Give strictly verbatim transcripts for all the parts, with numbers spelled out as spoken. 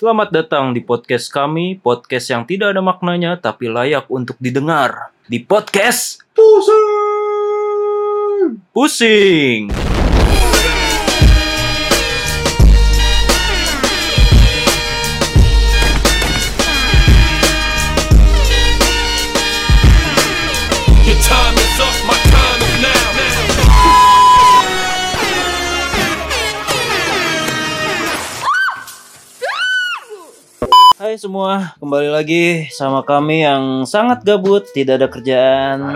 Selamat datang di podcast kami, podcast yang tidak ada maknanya tapi layak untuk didengar. Di podcast Pusing. Pusing. Your time is up, my time is now. Hai semua, kembali lagi sama kami yang sangat gabut, tidak ada kerjaan.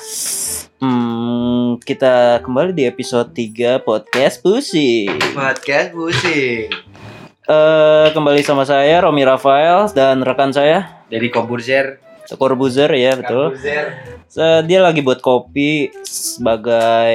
Hmm, kita kembali di episode tiga podcast Pusing. Podcast Pusing. Eh, kembali sama saya Romi Rafael dan rekan saya Dari Koburzer. Corbuzier ya, betul. So, dia lagi buat kopi sebagai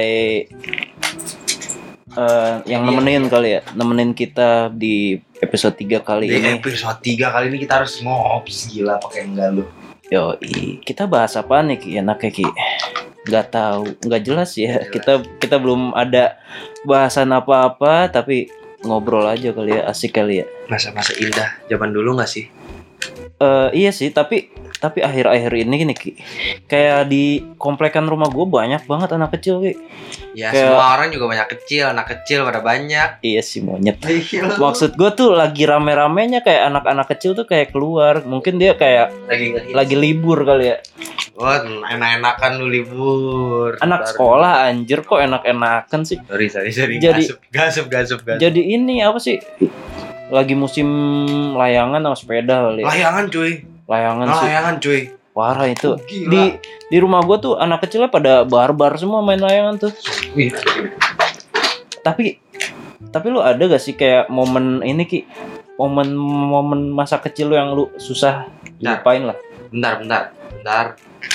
uh, yang nemenin kali ya, nemenin kita di episode tiga kali Di ini. episode tiga kali ini kita harus ngops gila pakai enggak lu. Yoi, kita bahas apa nih Ki? Enaknya Ki? Nggak tahu, nggak jelas ya. Jelas. Kita kita belum ada bahasan apa-apa, tapi ngobrol aja kali ya, asik kali ya. Masa-masa indah zaman dulu enggak sih? Uh, iya sih, tapi tapi akhir-akhir ini gini Ki, kayak di komplekan rumah gue banyak banget anak kecil Ki. Ya Kayak- semua orang juga banyak kecil, anak kecil pada banyak. Iya sih monyet. Maksud Maksud gue tuh lagi rame-ramenya kayak anak-anak kecil tuh kayak keluar. Mungkin dia kayak lagi ngehits. lagi libur kali ya. Wah, enak-enakan lu libur. Anak Ntar- sekolah anjir kok enak-enakan sih. Sorry, sorry, sorry. Jadi- Gasep, gasep, gasep, gasep. Jadi ini apa sih? Lagi musim layangan sama sepeda kali ya. Layangan cuy. Layangan sih. Layangan cuy. Parah itu. Oh, gila. Di di rumah gue tuh anak kecilnya pada barbar semua main layangan tuh. Wih. Tapi tapi lu ada gak sih kayak momen ini Ki? Momen-momen masa kecil lu yang lu susah Nah. lupain lah. Bentar, bentar, bentar.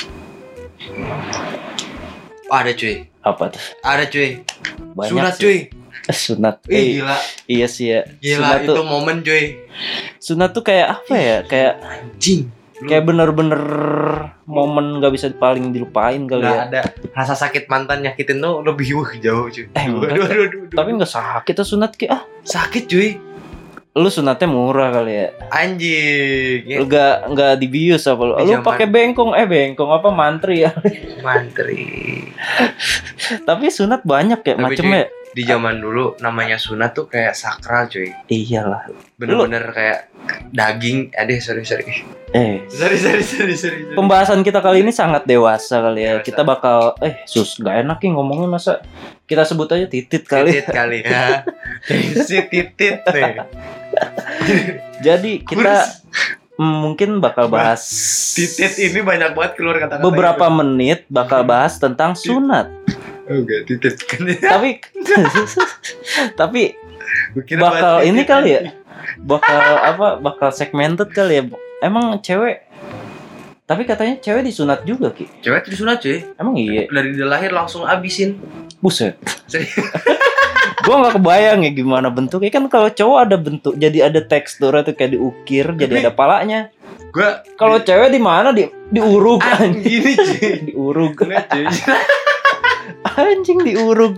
Oh, ada cuy. Apa tuh? Ada cuy. Banyak Sunat sih. cuy. Sunat. Ih, Eh, gila. iya sih ya. Gila Sunat itu tuh, momen cuy. sunat tuh kayak apa ya? Kayak Anjing. Lu kayak bener-bener momen gak bisa paling dilupain kali nggak ya. ada rasa sakit mantan nyakitin tuh lebih wah jauh cuy. Eh, enggak. Aduh, aduh, aduh, aduh. Tapi nggak sakit tuh sunat Ki. Ah, sakit cuy. lu sunatnya murah kali ya. Anjing. Ya, Lu gak nggak dibius apa lu? Di Lu zaman- pakai bengkong eh bengkong apa mantri ya. mantri. Tapi sunat banyak ya Tapi, macemnya. Di zaman dulu namanya sunat tuh kayak sakral cuy. Iyalah. Bener-bener kayak daging. Aduh, sorry, sorry. Eh, Sorry, sorry, sorry, sorry. sorry. pembahasan kita kali ini sangat dewasa kali ya. Dewasa. Kita bakal eh sus gak enak nih ngomongnya masa kita sebut aja titit kali. Titit kali ya. Si titit nih. Jadi kita mm, mungkin bakal bahas Titit ini banyak banget keluar kata-kata. beberapa menit bakal bahas tentang sunat. Oke, titit kan. Tapi tapi Gua kira bakal buat ini titit. kali ya. Bakal apa? Bakal segmented kali ya. Emang cewek tapi katanya cewek disunat juga Ki. Cewek tuh disunat cuy. Emang iya. Dari dia lahir langsung abisin. Buset. Serius. Gua nggak kebayang ya gimana bentuknya, kan kalau cowok ada bentuk jadi ada teksturnya tuh kayak diukir jadi Tapi- ada palanya. Gua Kalau cewek di mana di diurug ah, anjing. gini cuy. Diurug Enggak cuy. anjing diurug.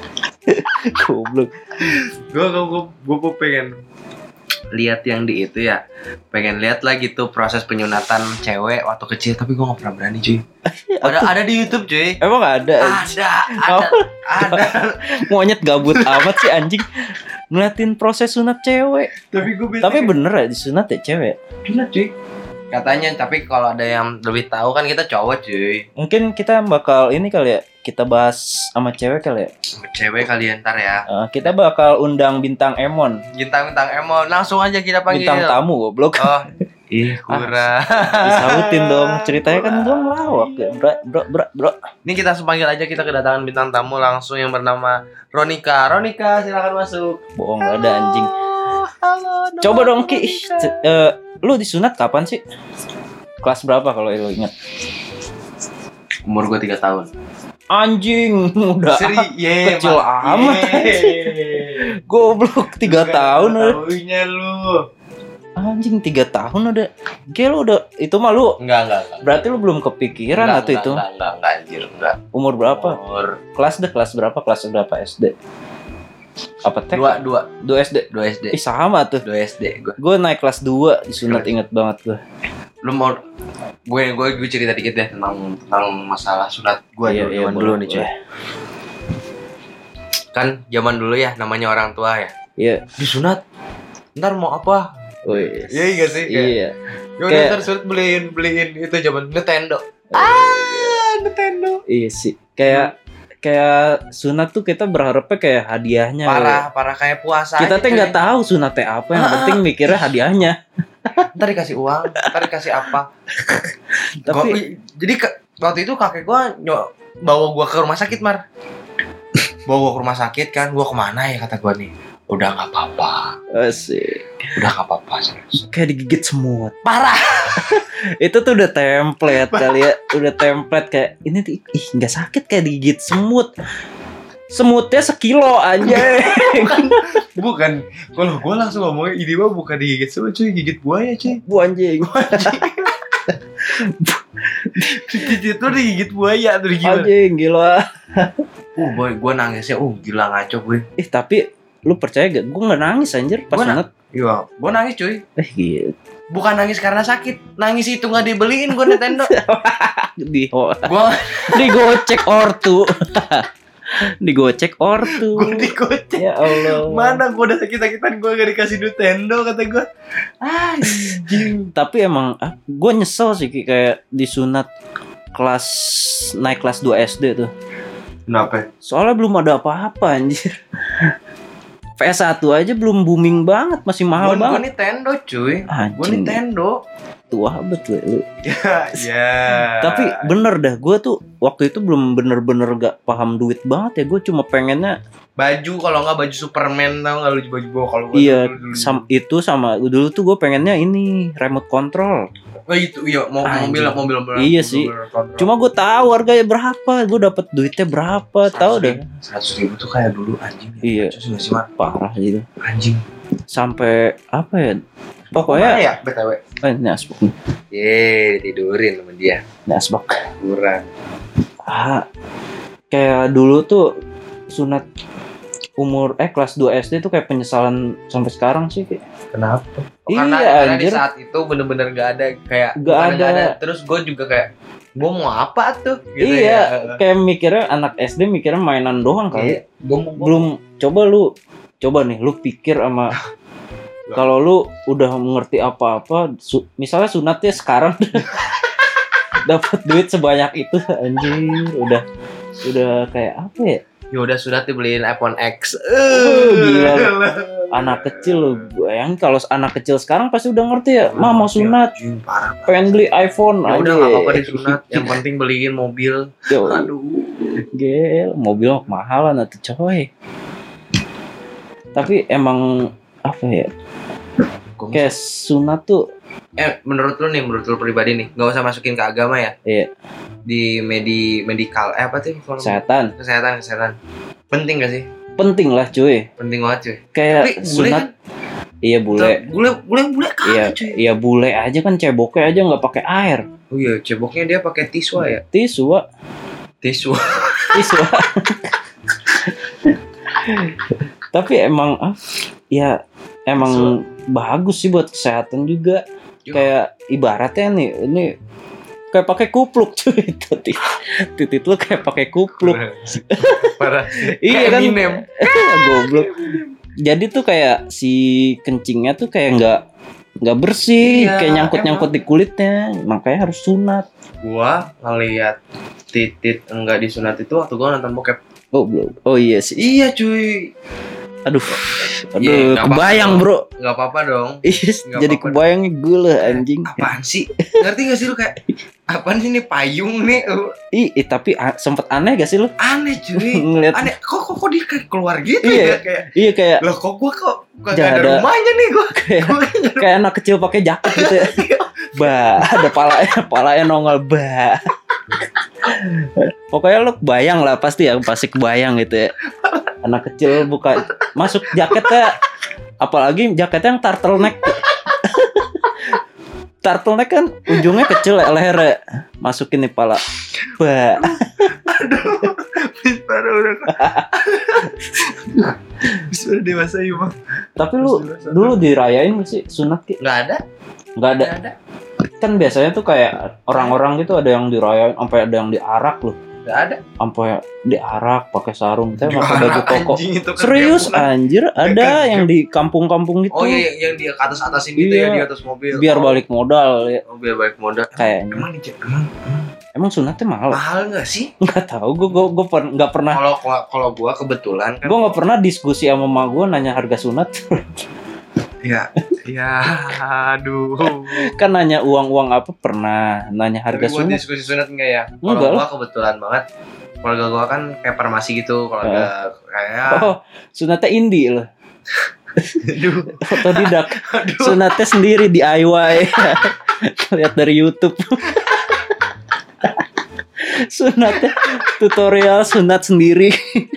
Goblok. Gua gua gua, gua, gua pengen lihat yang di itu ya. Pengen lihat lagi tuh proses penyunatan cewek waktu kecil, tapi gua nggak pernah berani cuy. Ada ada di YouTube cuy. Emang ada Ada, ada, ada. monyet gabut amat sih anjing ngeliatin proses sunat cewek. Tapi gua bete. Tapi bener ya disunat ya cewek. Sunat cuy. Katanya, tapi kalau ada yang lebih tahu kan kita cowok cuy. Mungkin kita bakal ini kali ya, kita bahas sama cewek kali ya. Sama cewek kalian ntar ya. Eh, kita bakal undang bintang Emon, Bintang-bintang Emon langsung aja kita panggil. bintang tamu goblok. Oh, ih kurang. Disautin dong, ceritanya kan gua ngelawak ya, bro, bro, bro, bro. Ini kita langsung panggil aja, kita kedatangan bintang tamu langsung yang bernama Ronika. Ronika, silakan masuk. Bohong gak ada anjing. Halo. Coba dong Ki, ih, c- eh, lu disunat kapan sih? Kelas berapa kalau lu ingat? Umur gue tiga tahun. Anjing, udah Seri, ye, kecil Mak. amat. Ye. Goblok, tiga tahun udah. Tahunya lu. Anjing tiga tahun udah. Kayak lu udah itu mah lu. Enggak, enggak, enggak. Berarti lu belum kepikiran Enggak, atau enggak, itu? Enggak, enggak, enggak, anjir, enggak. Umur berapa? Umur Kelas deh, kelas berapa? Kelas berapa S D? Apa T K? Dua, dua, dua S D. dua S D. Ih sama tuh. Dua S D gue. Gue naik kelas dua disunat, inget banget gue. Lu mau gue gue gue cerita dikit deh tentang tentang masalah sunat gue Iya, dulu, iya, zaman boleh, dulu nih cuy. boleh. Kan zaman dulu ya namanya orang tua ya. Iya. Disunat. Ntar mau apa? Wih. Iya iya sih. Kayak, Iya. ya udah Kayak- ntar sunat beliin beliin itu zaman Nintendo. Oh, Ah, Nintendo. Iya sih. Kayak kayak sunat tuh kita berharapnya kayak hadiahnya. Parah, parah kayak puasa. Kita aja, tuh cuy. nggak tahu sunatnya apa, yang penting mikirnya hadiahnya. Ntar dikasih uang, ntar dikasih apa. Tapi Gua- jadi ke- waktu itu kakek gua nyo, bawa gua ke rumah sakit, Mar. Bawa gua ke rumah sakit kan, gua kemana ya kata gua nih. Udah nggak apa-apa, asik. udah nggak apa-apa. Serius. Kayak digigit semut. Parah. Itu tuh udah template kali ya, udah template kayak ini tuh ih nggak sakit kayak digigit semut. Semutnya sekilo aja. Bukan, kalau gua langsung ngomongnya ini mah bukan digigit semut cuy, gigit buaya cuy. Bu anjing. Itu tuh digigit buaya tuh gimana? Anjing gila. Uh, boy, gua nangisnya, uh gila ngaco gue. Ih tapi lu percaya gak? Gue nggak nangis anjir pas Gua na- sunat. Iya, gua nangis cuy. Eh gitu. Bukan nangis karena sakit, nangis itu nggak dibeliin gua Nintendo. Di oh, Gua digocek ortu. Digocek ortu. gua dikocek. Ya Allah. Mana gua udah sakit-sakitan gua gak dikasih Nintendo kata gua. Anjing. Tapi emang ah, gue nyesel sih Ki, kayak disunat kelas naik kelas dua S D tuh. Kenapa? Soalnya belum ada apa-apa anjir. P S satu aja belum booming banget, masih mahal Gua, gua banget. Nintendo cuy. Gua Anjing. Nintendo. Tua betul lu. Ya, ya. Tapi bener dah, gue tuh waktu itu belum bener-bener gak paham duit banget ya. Gue cuma pengennya baju kalau nggak baju Superman tau nggak lu baju gua kalau gua iya dulu, dulu. sam, itu sama dulu tuh gue pengennya ini remote control. Oh itu iya mau Anjing. mobil mobil mobil. Iya mobil, sih. mobil kontrol. Cuma gue tahu harganya berapa, gue dapet duitnya berapa, tahu deh. Seratus ribu tuh kayak dulu anjing. Iya. Terus nggak sih Mar? Parah gitu. Anjing. Sampai apa ya? Mana Pokoknya ya B T W. eh, ini asbak nih. Ye tidurin sama dia. Ini asbak. Kurang. Ah, kayak dulu tuh sunat umur eh kelas dua S D tuh kayak penyesalan sampai sekarang sih kayak. Kenapa? Oh, Iya, karena, karena di anjir. saat itu bener-bener gak ada kayak Nggak bukan nggak ada. Terus gue juga kayak gue mau apa tuh? Gitu Iya, ya. kayak mikirnya anak S D mikirnya mainan doang kali. Iya. Gue mau Belum coba lu coba nih lu pikir sama kalau lu udah mengerti apa-apa, su- misalnya sunatnya sekarang dapat duit sebanyak itu anjir, udah udah kayak apa ya? ya udah sudah dibeliin iPhone X. Oh, gila. Anak kecil lu, bayangin kalau anak kecil sekarang pasti udah ngerti ya, "Ma mau sunat, Anjing, parah. pengen beli iPhone." Ya udah anjir. nggak apa-apa disunat. Yang penting beliin mobil. Yo, Aduh. gel, mobil mah kemahalan atuh coy. Tapi emang apa ya? Gua Kayak sunat tuh Eh, menurut lu nih, menurut lu pribadi nih, nggak usah masukin ke agama ya? Iya. Di medi medikal, eh apa tuh? Kalau- kesehatan Kesehatan, kesehatan. Penting gak sih? penting lah cuy. Penting banget cuy. Kayak Tapi bule sunat kan? iya bule. Bule, bule, bule Iya, kagak cuy. iya bule aja kan ceboknya aja nggak pakai air. Oh iya, ceboknya dia pakai tisu ya. Tisu, Wak. Tisu. Tisu. Wak. Tapi emang ah, ya emang bagus sih buat kesehatan juga. Yo. Kayak ibaratnya nih, ini kayak pakai kupluk cuy. Titit, titit lu kayak pakai kupluk. Parah. Iya Kayak kan. Eminem. Goblok. Jadi tuh kayak si kencingnya tuh kayak nggak nggak bersih, Iya, kayak nyangkut-nyangkut di kulitnya. Makanya harus sunat. Gua ngeliat titit enggak disunat itu waktu gua nonton bokep. Oh belum. Oh iya sih. Iya cuy. Aduh. Aduh, Iya, nggak kebayang, apa-apa. Bro. Nggak apa-apa dong. Iya, Nggak jadi apa-apa. kebayangnya gue lah anjing. Apaan sih? Ngerti gak sih lu kayak apaan sih ini payung nih? Uh, Ih, ih, tapi a- sempet aneh gak sih lu Aneh cuy. ngeliat? Aneh. Kok kok, kok dia kayak keluar gitu Iya. ya kayak. Iya kayak Lah kok gua kok gak Nggak ada ada. rumahnya nih gua. kayak, Gua kayak kayak anak kecil pakai jaket gitu ya. Bah, ada palanya, palanya nongol bah. Pokoknya lu kebayang lah pasti ya, pasti kebayang gitu ya. Anak kecil buka masuk jaketnya, apalagi jaketnya yang turtleneck. turtleneck kan ujungnya kecil ya, lehernya masukin di pala. Bah. Aduh, Bispara udah. Bispara dewasa yuk bang. Tapi lu dulu dirayain gak sih sunat Ki? Nggak ada, Nggak ada. nggak ada, Kan biasanya tuh kayak orang-orang gitu ada yang dirayain sampai ada yang diarak loh. nggak ada. Sampai diarak pakai sarung teh pakai baju Diarak, koko. anjing, itu kan Serius kampungan. anjir, ada Kan yang di kampung-kampung gitu. Oh iya, yang, yang dia ke atas atasin gitu Iya. ya, di atas mobil. Biar Oh. balik modal ya. Oh, biar balik modal. Kayaknya. Emang di emang Emang sunatnya mahal? mahal nggak sih? Nggak tahu, gue gue gue per, nggak pernah. Kalau kalau gua kebetulan kan. Gue nggak pernah diskusi sama mama gue nanya harga sunat. Iya, iya, aduh. Kan nanya uang-uang apa pernah, nanya harga Tapi buat sunat. diskusi sunat enggak ya? Kalau Enggak gua kebetulan banget. Keluarga gua kan kayak farmasi gitu, keluarga kayak Oh, sunatnya indie loh. aduh, Otodidak. aduh. Sunatnya sendiri di D I Y. Lihat dari YouTube. Sunatnya tutorial sunat sendiri.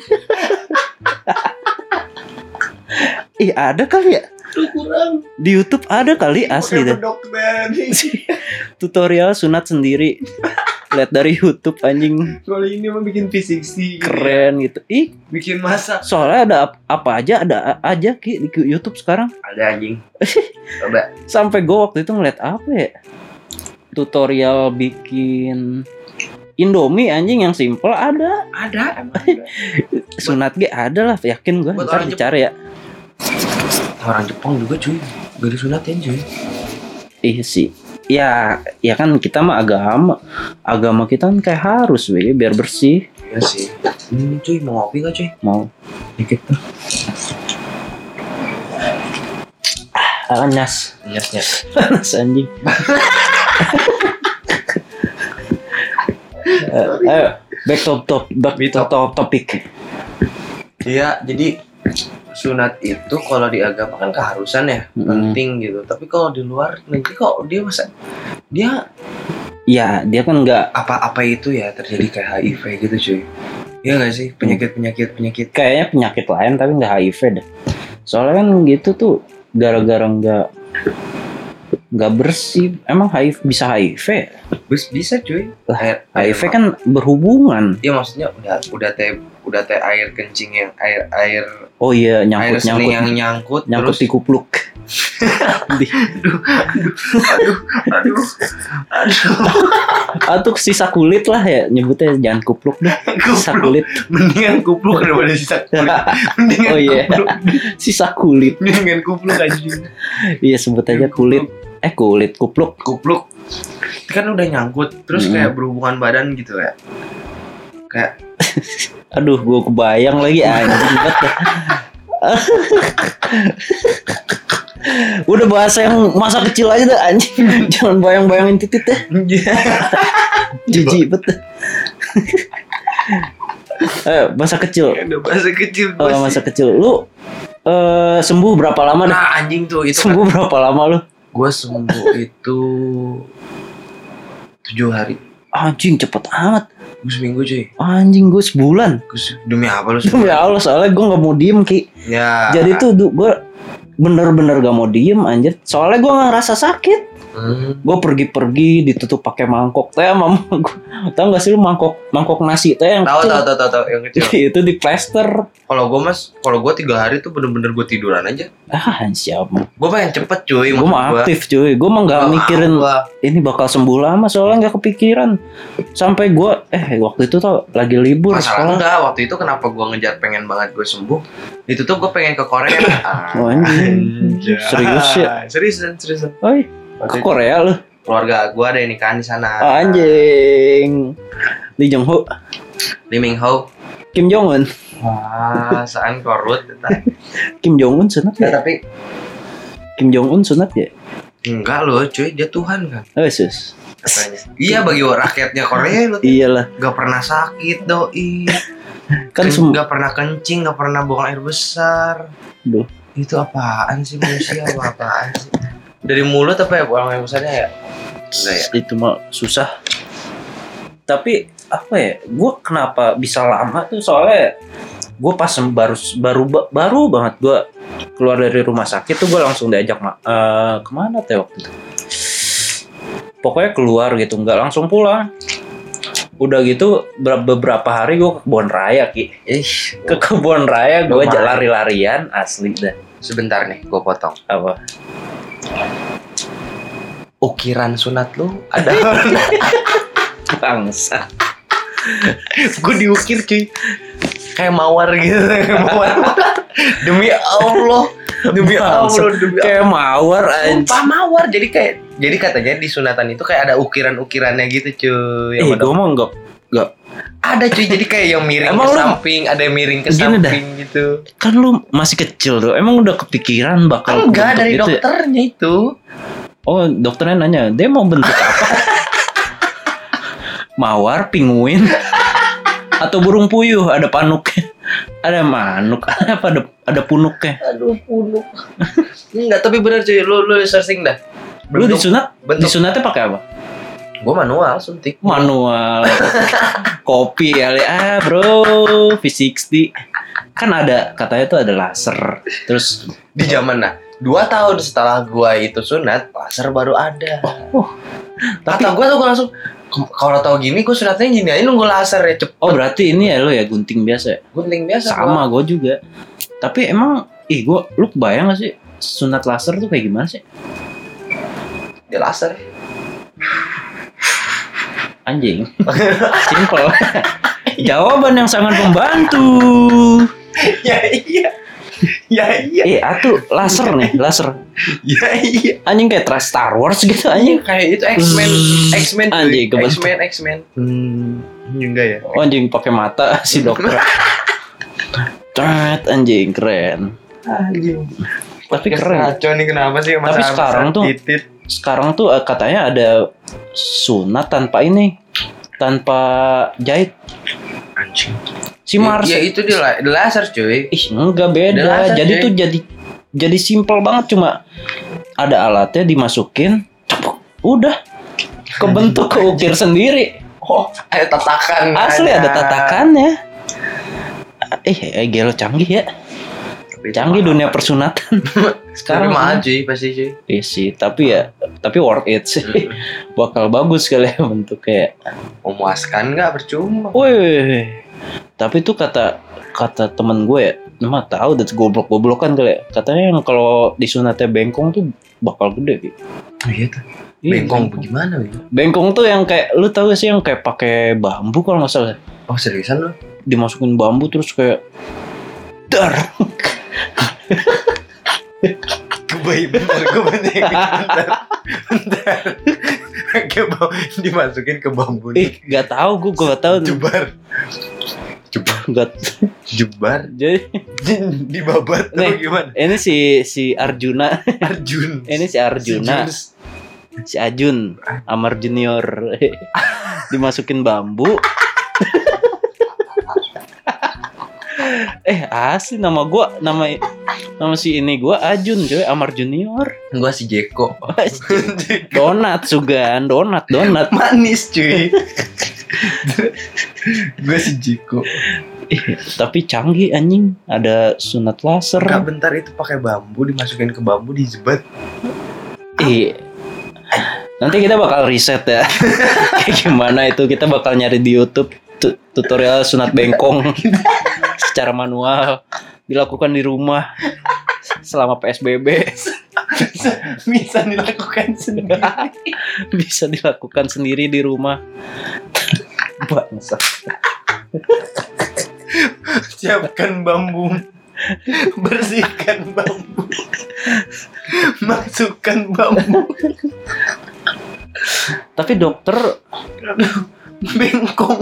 Ih, ada kali ya? Kurang. Di YouTube ada kali asli Pakai deh. bedok nih. Tutorial sunat sendiri. Lihat dari YouTube anjing Kalau ini mah bikin P enam puluh keren gitu. Ih, bikin masak. soalnya ada ap- apa aja ada a- aja Ki di YouTube sekarang. Ada anjing. Coba. Sampai gue waktu itu ngeliat apa ya? Tutorial bikin Indomie anjing yang simple ada. Ada emang ada. Sunat G ada lah, yakin gue. Buat Ntar orang dicari ya. Orang Jepang juga cuy. Gak disunatin cuy. Iya sih. Ya, ya kan kita mah agama. Agama kita kan kayak harus we, biar bersih. Iya sih. Ini cuy mau ngopi gak cuy? Mau Dikit tuh. ah, nyas. Nyas nyas. Panas anjing. Eh, ayo, back to top, back to top topic. Iya, jadi sunat itu kalau di agama kan keharusan ya, Mm. penting gitu. Tapi kalau di luar negeri kok dia masa dia Ya, dia kan nggak apa-apa itu ya terjadi kayak H I V gitu cuy. Iya nggak sih penyakit-penyakit penyakit. kayaknya penyakit lain tapi nggak H I V deh. Soalnya kan gitu tuh gara-gara nggak nggak bersih. Emang H I V bisa H I V? Bis bisa cuy. Lah, Air, H I V kan berhubungan. Iya maksudnya udah udah teh udah teh air kencing yang air air Oh iya, air nyangkut seni nyangkut yang nyangkut, nyangkut terus di kupluk. Di- aduh aduh aduh aduh Atau sisa kulit lah ya nyebutnya, jangan kupluk deh. Sisa kulit. mendingan kupluk daripada sisa kulit. Mendingan Oh iya. kupluk. Sisa kulit. Mendingan kupluk anjing. Iya sebut aja kulit. Eh kulit kupluk. Kupluk kan udah nyangkut terus Hmm. kayak berhubungan badan gitu ya. Kayak Aduh, gua kebayang lagi anjing banget. Udah bahasa yang masa kecil aja dah anjing. Jangan bayang-bayangin titit deh. Jijik banget. Ayo, masa kecil. udah bahasa kecil Oh, gua masa sih. kecil. Lu eh, sembuh berapa lama dah? Nah anjing tuh itu kan. Sembuh berapa lama lu? Gue sembuh itu tujuh hari. Anjing cepet amat. Gue seminggu cuy. Anjing gue sebulan. Gua se- demi apa lu Demi Allah, soalnya gue gak mau diem Ki. Ya. Jadi tuh gue bener-bener gak mau diem anjir. Soalnya gue gak ngerasa sakit. Hmm. Gue pergi-pergi ditutup pakai mangkok teh sama gue. Tahu gak sih lu mangkok mangkok nasi teh yang Tahu kecil? tahu tahu tahu tahu yang kecil. Itu di plester. Kalau gue mas, kalau gue tiga hari tuh bener-bener gue tiduran aja. Ah siapa? Gue pengen cepet cuy. Gue maksud mah gua. aktif cuy. Gue mah gak Gua- mikirin gua- ini bakal sembuh lama, soalnya nggak kepikiran. Sampai gue eh waktu itu tau lagi libur Masalah sekolah. enggak waktu itu kenapa gue ngejar pengen banget gue sembuh. Itu tuh gue pengen ke Korea. Oh, anjing. Serius ya? Seriusan seriusan. Oi, Waktu ke itu Korea lu? keluarga gue ada yang nikahan di sana. Oh, anjing. Lee Jong Ho, Lee Min Ho. Kim Jong Un, Wah, saan korut. Eta. Kim Jong Un sunat Ya, ya? tapi Kim Jong Un sunat ya? enggak loh cuy, dia Tuhan kan Oh sus. katanya. Iya bagi rakyatnya Korea lo Iyalah, gak pernah sakit doi. kan Ken- sem- gak pernah kencing, gak pernah buang air besar. Duh. Itu apaan sih manusia? Apa apaan sih? Dari mulut apa ya buang air besarnya ya? Enggak ya? itu mah susah. Tapi apa ya? Gue kenapa bisa lama tuh soalnya gue pas sem- baru baru baru banget gue keluar dari rumah sakit tuh gue langsung diajak ma- eh, kemana teh waktu itu? pokoknya keluar gitu, nggak langsung pulang. Udah gitu ber- beberapa hari gue ke kebun raya Ki. Ih, Ke kebun raya gue Lumayan. lari-larian asli dah. sebentar nih, gue potong. Apa? Ukiran sunat lu ada? Bangsa. Gue diukir cuy. Kayak mawar gitu, kayak mawar. Demi Allah, demi Bangsa. Allah, demi Allah. Kayak mawar anjing. Sumpah mawar, jadi kayak jadi katanya di sunatan itu kayak ada ukiran-ukirannya gitu cuy. Eh, Yang gue mah enggak enggak. ada cuy, jadi kayak yang miring Emang ke lu- samping, ada yang miring ke Gini samping gitu. Kan lu masih kecil tuh. Emang udah kepikiran bakal Enggak, bentuk dari gitu ya? dokternya itu. Oh, dokternya nanya, dia mau bentuk apa? Mawar, pinguin, atau burung puyuh? Ada panuknya, ada manuk, apa ada ada punuknya? Aduh, punuk. Enggak, tapi bener cuy, lu lu searching dah. Lu disunat, bentuk. disunatnya pakai apa? Gua manual suntik. Manual, kopi kali ah bro, V enam puluh. Kan ada katanya tuh ada laser, terus Di zaman nah, dua tahun setelah gua itu sunat, laser baru ada. oh, tapi Kata gua tuh gua langsung "K- kalau tahu gini gua sunatnya gini aja nunggu laser ya cepet. oh berarti ini ya lo ya gunting biasa ya? Gunting biasa. Sama gua. gue juga. Tapi emang, ih gue, lu bayang gak sih sunat laser tuh kayak gimana sih? Dia laser. Anjing. Simple. Jawaban yang sangat membantu. Ya iya. Ya iya. Eh, atuh laser nih, laser. Ya iya. Anjing kayak Tra- Star Wars gitu anjing. Kayak itu X-Men, X-Men, cuy. Anjing, kebentuk. X-Men, X-Men. Hmm, enggak ya. Oh, anjing pakai mata si dokter. Cat anjing keren. Anjing. Tapi keren. Kacau nih kenapa sih Tapi sekarang tuh- titit. Sekarang tuh eh, katanya ada sunat tanpa ini, tanpa jahit. Anjing. Si Mars. Ya itu di, la- di laser cuy. Ih, enggak Udah beda. laser, Jadi cuy. tuh jadi jadi simpel banget, cuma ada alatnya dimasukin, cepuk, udah kebentuk keukir sendiri. Oh, ada tatakan. Asli ada tatakannya. Eh, eh gelo canggih ya. Tapi itu Canggih mahal. dunia persunatan. Sekarang Sekarang mahal cuy pasti cuy. Iya sih, tapi ya tapi worth it sih. Bakal bagus kali ya bentuk kayak. Memuaskan nggak percuma. Wih. Tapi tuh kata kata temen gue ya, mah tahu udah goblok-goblokan kali ya. Katanya yang kalau disunatnya bengkong tuh bakal gede gitu. Oh iya tuh. Iya, Bengkong bagaimana Bang? Bengkong tuh yang kayak lu tahu gak sih yang kayak pakai bambu kalau nggak salah. Oh seriusan lu? Dimasukin bambu terus kayak dar. Kebaik bentar, gue bentar, bentar, bentar. Kayak bau dimasukin ke bambu Ih, nih. nggak tahu gue gak tahu. Jebar, jebar, Nggak. jebar, Jadi dibabat atau Nih. gimana? ini si si Arjuna, Arjun. ini si Arjuna, Si Jun. si Ajun, Amar Junior dimasukin bambu. eh asli nama gua nama nama si ini gua Ajun coy, Amar Junior. Gua si Jeko. Donat sugan, donat, donat. Manis cuy. Gue si Jeko. Eh, tapi canggih anjing, ada sunat laser. Kak bentar itu pakai bambu dimasukin ke bambu dijebat. Eh, nanti kita bakal riset ya. Kayak gimana itu, kita bakal nyari di YouTube tu- tutorial sunat bengkong secara manual dilakukan di rumah selama P S B B. Bisa dilakukan sendiri. Bisa dilakukan sendiri di rumah. Bangsa. Siapkan bambu. Bersihkan bambu. Masukkan bambu. Tapi dokter Bengkong.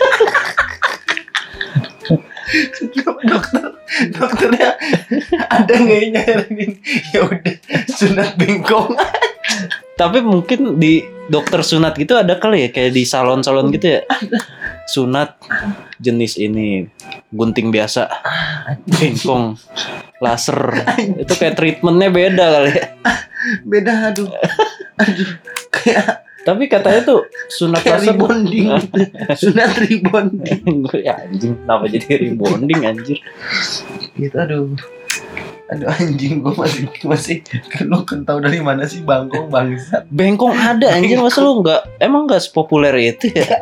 dokter dokternya ada nggak yang nyaranin ya udah sunat bengkong. tapi mungkin di dokter sunat gitu ada kali ya, kayak di salon-salon gitu ya. Sunat jenis ini, gunting biasa, bengkong, laser. Itu kayak treatmentnya beda kali ya. Beda aduh aduh kayak Tapi katanya tuh sunat kayak laser rebonding sunat rebonding ya anjing, kenapa jadi rebonding anjir? gitu aduh Aduh anjing, gue masih masih lu kan tahu dari mana sih bangkong bangsat. Bengkong ada anjing, masa lu nggak emang nggak sepopuler itu ya?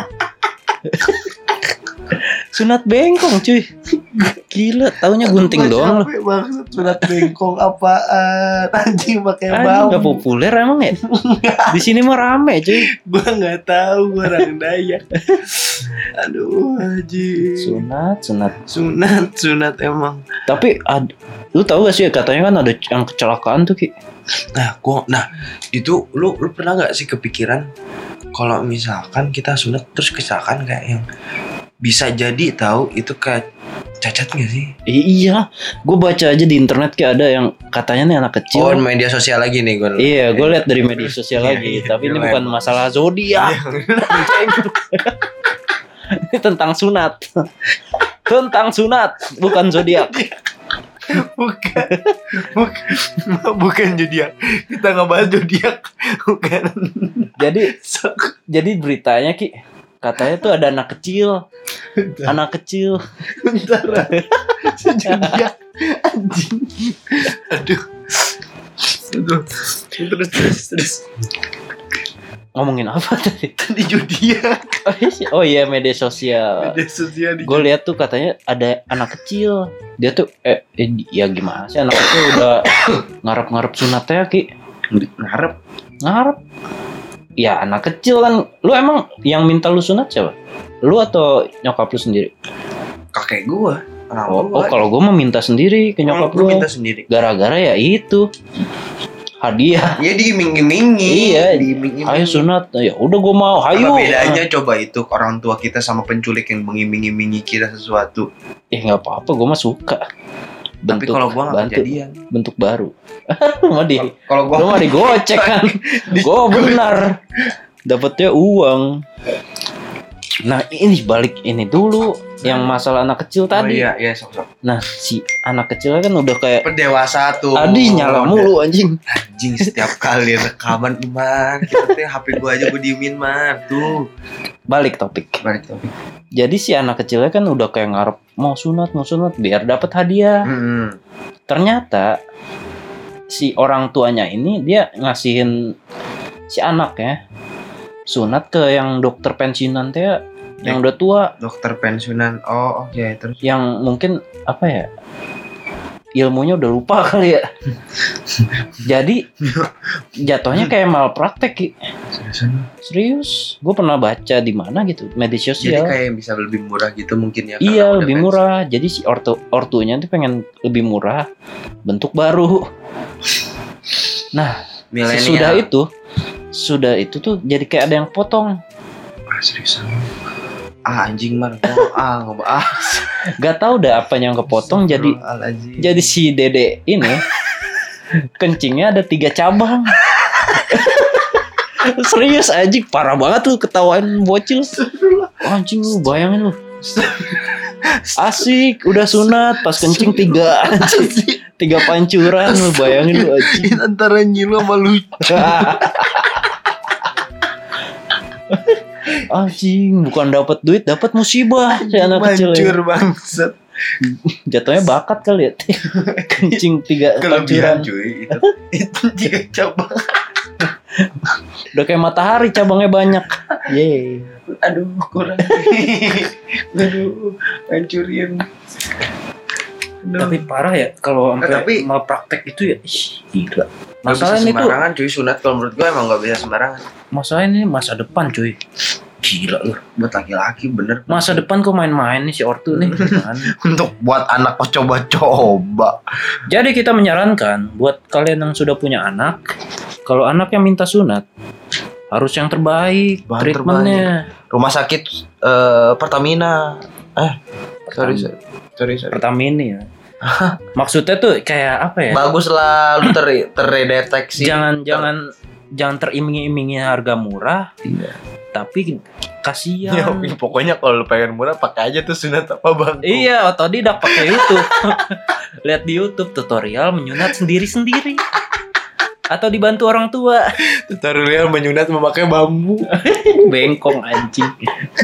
Sunat bengkong cuy. Gila, taunya gunting doang loh. Capek banget sunat bengkong apaan? Anjing pakai Anjing bau. nggak populer emang ya? Di sini mah rame cuy. Gua nggak tahu, gua orang Dayak. Aduh anjing. Sunat, sunat. Sunat, sunat emang. Tapi ad, lu tahu gak sih katanya kan ada yang kecelakaan tuh Ki? Nah, gua nah itu lu lu pernah nggak sih kepikiran kalau misalkan kita sunat terus kecelakaan kayak yang bisa jadi tahu itu kayak cacat nggak sih? I- iya, gue baca aja di internet kayak ada yang katanya nih anak kecil. Oh, media sosial lagi nih gue. Iya, gue lihat dari media sosial Iya, lagi. iya, Tapi ini iya, bukan iya. masalah zodiak. Ini tentang sunat. Tentang sunat, bukan zodiak. bukan, bukan, bukan zodiak. Kita nggak bahas zodiak, bukan. Jadi, jadi beritanya Ki, katanya tuh ada anak kecil, anak kecil. Bentar, zodiak, anjing. Aduh, aduh. Terus, terus, terus. Ngomongin apa tadi? Tadi zodiak. Oh iya, media sosial. Media sosial di. Gue lihat tuh katanya ada anak kecil. Dia tuh eh, eh ya gimana sih anak kecil udah ngarep-ngarep sunatnya Ki? Ngarep. Ngarep. Ya anak kecil kan. Lu emang yang minta lu sunat siapa? Lu atau nyokap lu sendiri? Kakek gua. Orang Oh, gua. oh kalau gue mau minta sendiri ke nyokap Lu gue. minta sendiri. Gara-gara ya itu hadiah. Ya diiming-imingi. Iya. diiming-imingi. Ayo sunat. Ya udah gue mau. Hayu. Apa bedanya coba itu orang tua kita sama penculik yang mengiming-imingi kita sesuatu. Eh nggak apa-apa. Gue mah suka. Tapi kalau gua nggak bantu- kejadian. bentuk baru. Lu mah di. Kalau Lu gua mah digocek kan. Gue benar. Dapatnya uang. Nah ini balik ini dulu yang masalah anak kecil Oh tadi. iya, iya sok-sok. Nah si anak kecilnya kan udah kayak Pendewasa tuh. Adi nyala mulu anjing. Anjing setiap kali rekaman man, kita teh H P gua aja gua diemin man. Tuh. Balik topik. Balik topik. Jadi si anak kecilnya kan udah kayak ngarep mau sunat mau sunat biar dapat hadiah. Hmm. Ternyata si orang tuanya ini dia ngasihin si anaknya sunat ke yang dokter pensiunan teh yang udah tua, Dokter pensiunan. Oh, oke, terus yang mungkin apa ya? Ilmunya udah lupa kali ya. Jadi jatuhnya kayak malpraktek Ki. Serius, gue pernah baca di mana gitu, media Jadi sosial. kayak bisa lebih murah gitu mungkin ya. Iya, karena udah lebih pensiun. murah. Jadi si ortu ortunya tuh pengen lebih murah, bentuk baru. Nah, Milenial. sesudah itu, sudah itu tuh jadi kayak ada yang potong. Ah, seriusan. Ah anjing man, gua ah ngebahas. Gak tahu dah apa yang kepotong jadi Astagfirullahaladzim. jadi si dede ini kencingnya ada tiga cabang. Serius anjing, parah banget tuh ketahuan bocil. Anjing lu bayangin lu. Asik, udah sunat pas kencing tiga anjing. Tiga pancuran lu bayangin lu anjing. antara nyilu sama lucu. Anjing, bukan dapat duit, dapat musibah si anak kecil. Mancur Ya. bangsat. Jatuhnya bakat kali ya. Kencing tiga pancuran. Kelebihan cuy itu. Itu juga cabang. Udah kayak matahari cabangnya banyak. Yeay. Aduh kurang. Aduh hancurin. Aduh. Tapi parah ya kalau sampai tapi- mau praktek itu ya. Ih, gila. Nggak bisa Masalah ini tuh, sembarangan cuy, sunat kalau menurut gue emang gak bisa sembarangan. masalah ini masa depan cuy. Gila lu. Buat laki-laki bener. Masa depan kok main-main nih si ortu nih. Gimana? Untuk buat anak kok coba-coba. Jadi kita menyarankan buat kalian yang sudah punya anak, kalau anak yang minta sunat harus yang terbaik Bahan treatmentnya. Rumah sakit eh, Pertamina. Eh, sorry, sorry. Sorry, sorry. Pertamina ya. Maksudnya tuh kayak apa ya? Bagus lah lu ter terdeteksi. Jangan jangan jangan teriming-imingi harga murah, Iya. tapi kasihan. Ya, pokoknya kalau lu pengen murah pakai aja tuh sunat apa bang? Iya, otodidak pakai YouTube. Lihat di YouTube tutorial menyunat sendiri-sendiri. Atau dibantu orang tua. Tutorial menyunat memakai bambu. Bengkong anjing.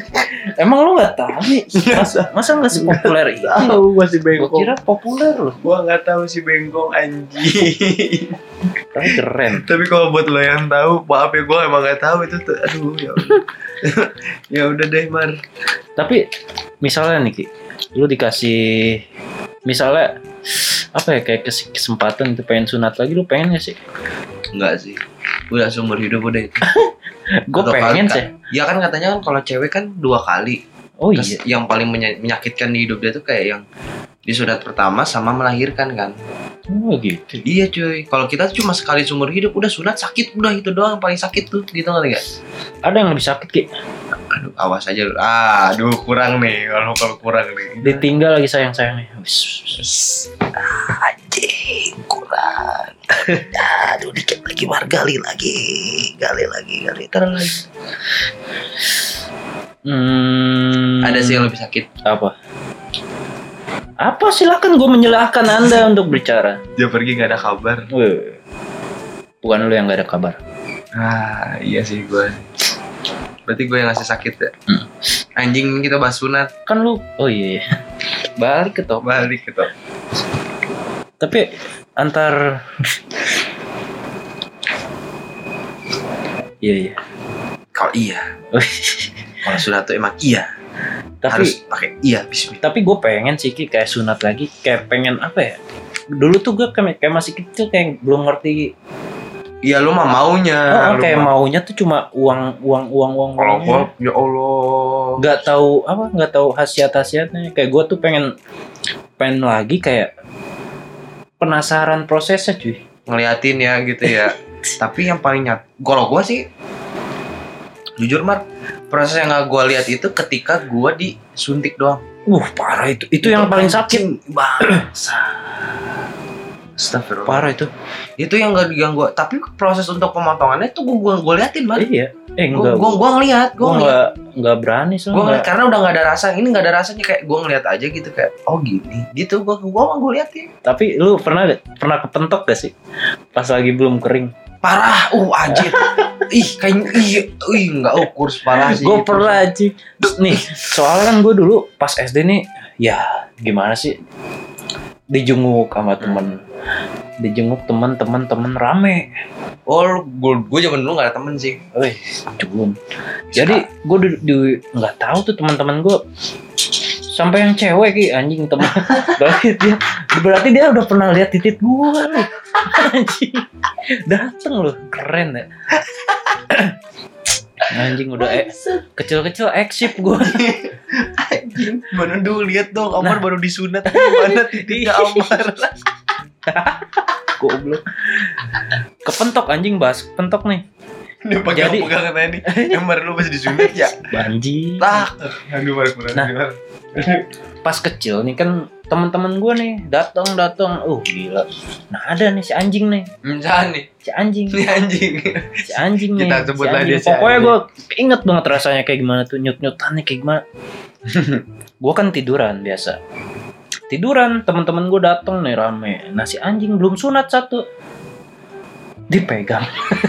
Emang lu nggak tahu nih? Masa masa nggak sepopuler itu? Tahu masih Gua bengkong. kira populer loh. Gua nggak tahu si bengkong anjing. Tapi keren. Tapi kalau buat lo yang tahu, maaf ya gue emang nggak tahu itu tuh. Aduh ya udah. Ya udah deh Mar. Tapi misalnya nih Ki, lu dikasih misalnya apa ya kayak kes- kesempatan itu pengen sunat lagi, lu pengen gak sih? Enggak sih. Udah seumur hidup udah itu. Gue Atau pengen kali- sih. Ya kan katanya kan kalau cewek kan dua kali. Oh Kes- iya. Yang paling menya- menyakitkan di hidup dia tuh kayak yang di sunat pertama sama melahirkan kan. Oh gitu. Iya cuy. Kalau kita tuh cuma sekali seumur hidup udah sunat sakit udah itu doang yang paling sakit tuh gitu nggak gak? Ada yang lebih sakit Ki? Aduh awas aja lu. Ah, aduh kurang nih kalau kalau kurang nih. Ditinggal lagi sayang-sayangnya. Wis. Anjing kurang. Aduh dikit lagi Mar, gali lagi, gali lagi, gali terus. Hmm, Ada sih yang lebih sakit. apa? Apa silakan gue menyilahkan Anda untuk bicara. Dia pergi nggak ada kabar. Weh. Bukan lu yang gak ada kabar. Ah iya sih gue. Berarti gue yang ngasih sakit ya. Hmm. Anjing kita bahas sunat. Kan lu, oh iya, iya. Balik ke top. Balik gitu. Tapi antar iya iya. Kalau iya, kalau sunat tuh emang iya. Tapi Harus pakai iya bismillah. tapi gue pengen sih Ki, kayak sunat lagi, kayak pengen apa ya? Dulu tuh gue kayak, kayak masih kecil kayak belum ngerti. Iya lu mah maunya. Oh, lu kayak mah. maunya tuh cuma uang uang uang uang. Kalau uangnya. gua ya Allah. Nggak tahu apa, nggak tahu khasiat-khasiatnya. Kayak gue tuh pengen pengen lagi kayak penasaran prosesnya cuy. Ngeliatin ya gitu ya. Tapi yang paling nyat, kalau gua sih jujur Mar, proses yang gak gua lihat itu ketika gua disuntik doang. Uh parah itu, itu, yang paling sakit. Bangsa. Astagfirullah. Parah itu. Itu yang gak diganggu. Tapi proses untuk pemotongannya tuh gua gua, gua liatin Mar. Iya. Eh Gua enggak. gua, gua ngeliat, Gue gua ngeliat. nggak nggak berani soalnya. Gua ngeliat karena udah gak ada rasa. Ini gak ada rasanya kayak gua ngeliat aja gitu kayak oh gini. Gitu gua gua mah gua liatin. Tapi lu pernah pernah kepentok gak sih pas lagi belum kering? Parah, uh anjir. Ih, kayak ih, ih enggak oh kurs parah sih. Gue itu. pernah anjing. Terus nih, soalnya kan gue dulu pas S D nih, ya gimana sih? Dijenguk sama temen, dijenguk teman-teman temen rame. Oh, gue gue zaman dulu gak ada temen sih. Wih, culun. Jadi gue di, di nggak tahu tuh teman-teman gue sampai yang cewek Ki anjing teman. berarti dia berarti dia udah pernah lihat titik gue loh. Anjing. Dateng loh, keren ya. Anjing udah eh, kecil-kecil eksip gue. Anjing, mana dulu lihat dong, Amar Nah. baru disunat gimana titiknya Amar. Goblok. Kepentok anjing, bahas kepentok nih. Dia pegang-pegang katanya nih. Amar lu masih disunat ya? Banji. Tak. Aduh, Mar, kurang Nah. Mar. Pas kecil nih kan teman-teman gue nih datang datang. Uh gila. Nah ada nih si anjing nih. Misalnya nih, Si anjing. ini anjing. Si anjing nih. Kita si sebutlah anjing. dia si Pokoknya anjing. gue inget banget rasanya kayak gimana tuh, nyut-nyutannya kayak gimana. Gue kan tiduran biasa. Tiduran, teman-teman gue datang nih rame. Nah si anjing belum sunat satu. Dipegang.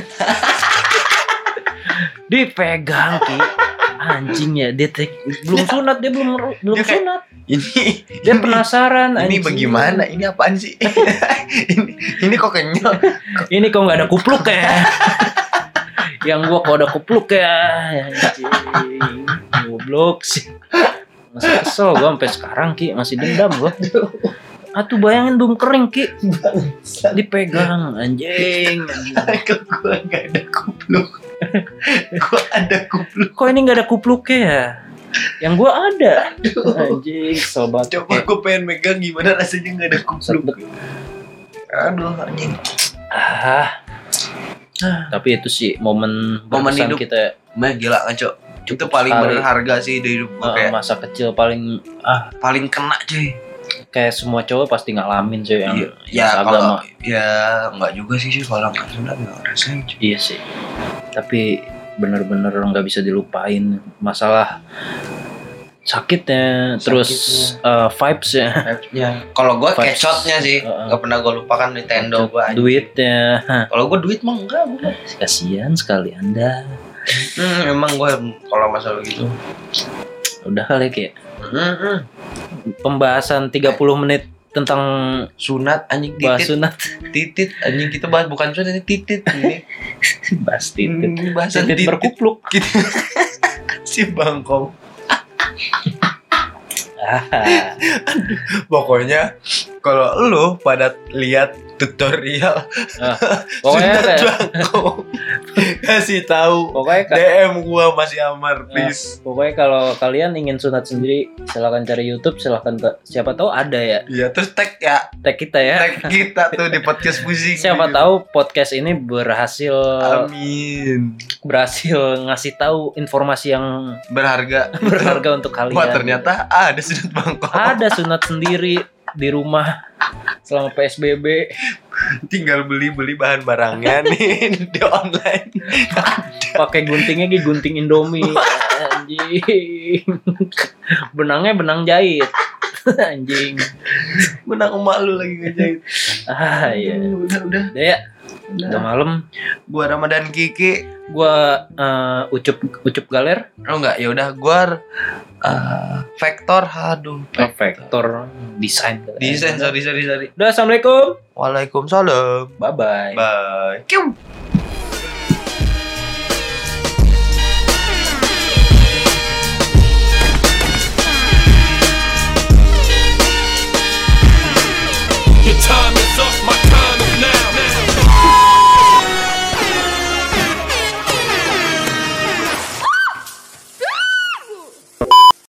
Dipegang Ki. Anjing ya, dia te- belum sunat, dia belum belum Dia kayak, sunat. Ini Dia penasaran ini anjing. bagaimana? Ini apaan sih? ini ini kok kenyal. Ini kok nggak ada kupluk ya? Yang gua kok ada kupluk ya? Anjing. Goblok sih. Masih kesel gua sampai sekarang Ki, masih dendam gua. Atuh bayangin belum kering Ki. Dipegang anjing. anjing. Kok gua enggak ada kupluk. Gua ada kupluk. Kok ini nggak ada kupluknya ya? Yang gua ada. Anjing, sobat. Coba gua pengen megang gimana rasanya enggak ada kupluk. Aduh, anjing. Ah. Tapi itu sih momen Momen berkesan hidup. kita. Mah gila kan, Cok. Itu paling sekali. berharga sih di hidup gua Uh, kayak masa kecil paling ah paling kena, cuy. kayak semua cowok pasti ngalamin cuy yang, Iya, yang ya seagama. kalau ya enggak juga sih sih kalau enggak sunat enggak ngerasain, cuy. Iya sih. Tapi bener-bener nggak bisa dilupain masalah sakitnya, terus uh, vibes ya, Ya, kalau gua Vibes. kecotnya sih, Uh-uh. enggak pernah gua lupakan Nintendo gua. anjing. duitnya. Kalau gua duit mah enggak, gua. Kasihan sekali Anda. Hmm, emang gua kalau masalah gitu. Udah kali ya. Mm-mm. Pembahasan tiga puluh menit tentang Sunat anjing bahas titit. sunat. Titit anjing kita bahas bukan sunat ini titit ini. Bahas titit. Hmm, bahasan Titit titit. berkupluk. Kita si bangkong. Ah, Pokoknya kalau lu pada lihat tutorial ah. Pokoknya sunat kayak- bangkong kasih tahu pokoknya D ka- M gua masih Amar please. pokoknya kalau kalian ingin sunat sendiri, silahkan cari YouTube, silahkan ke siapa tahu ada ya. Iya terus tag ya, Tag kita ya. tag kita tuh di podcast pusing. Siapa tahu podcast ini berhasil Amin. berhasil ngasih tahu informasi yang Berharga. berharga untuk kalian. Wah ternyata ada sunat bangkong. Ada sunat sendiri di rumah selama P S B B. Tinggal beli-beli bahan barangnya nih di online. Pakai guntingnya gitu gunting Indomie. Anjing. Benangnya benang jahit. Anjing. Menang emak lu lagi ngejahit. Ah iya. Udah udah. Udah ya. Udah malam. Gua Ramadan Kiki. Gua uh, ucup ucup galer. Oh enggak, ya udah gua uh, Vektor. Aduh, Vektor desain. Desain sorry sorry sorry. Udah, assalamualaikum. Waalaikumsalam. Bye bye. Bye. Kiu.